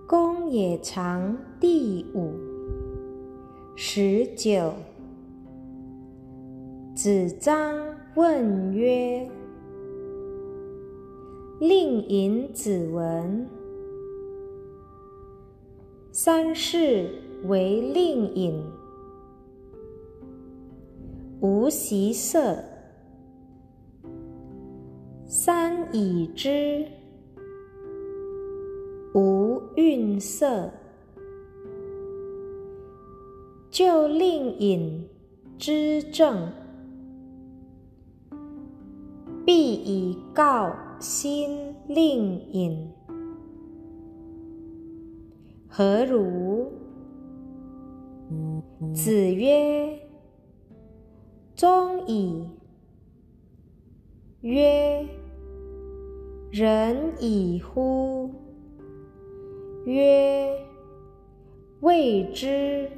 公冶长第5。19。子张问曰：令尹子文。三世为令尹，无习色。三已之，无愠色。就令尹之政，必以告新令尹。何如？子曰：忠矣。曰：仁矣乎？曰：未之。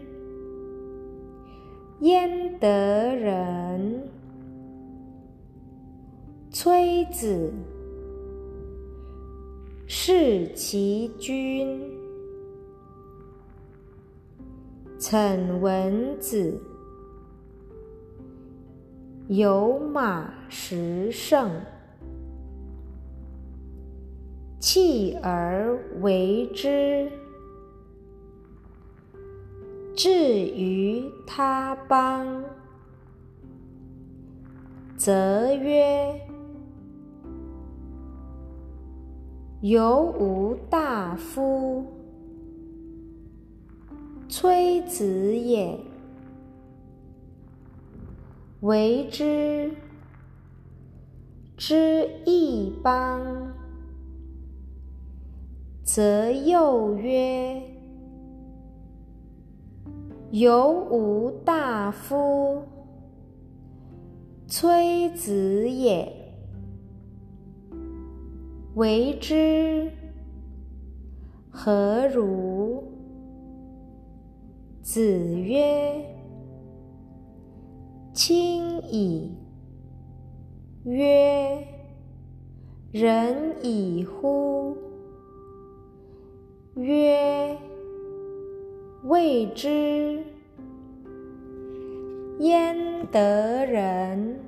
焉得仁？崔子，弑其君。谶文子，有马十乘，弃而为之，至于他邦，则曰：犹吾大夫，崔子也。为之，之异邦，则又曰：犹吾大夫，崔子也。为之，何如？子曰：亲矣。曰：仁矣乎？曰：未之。焉得仁？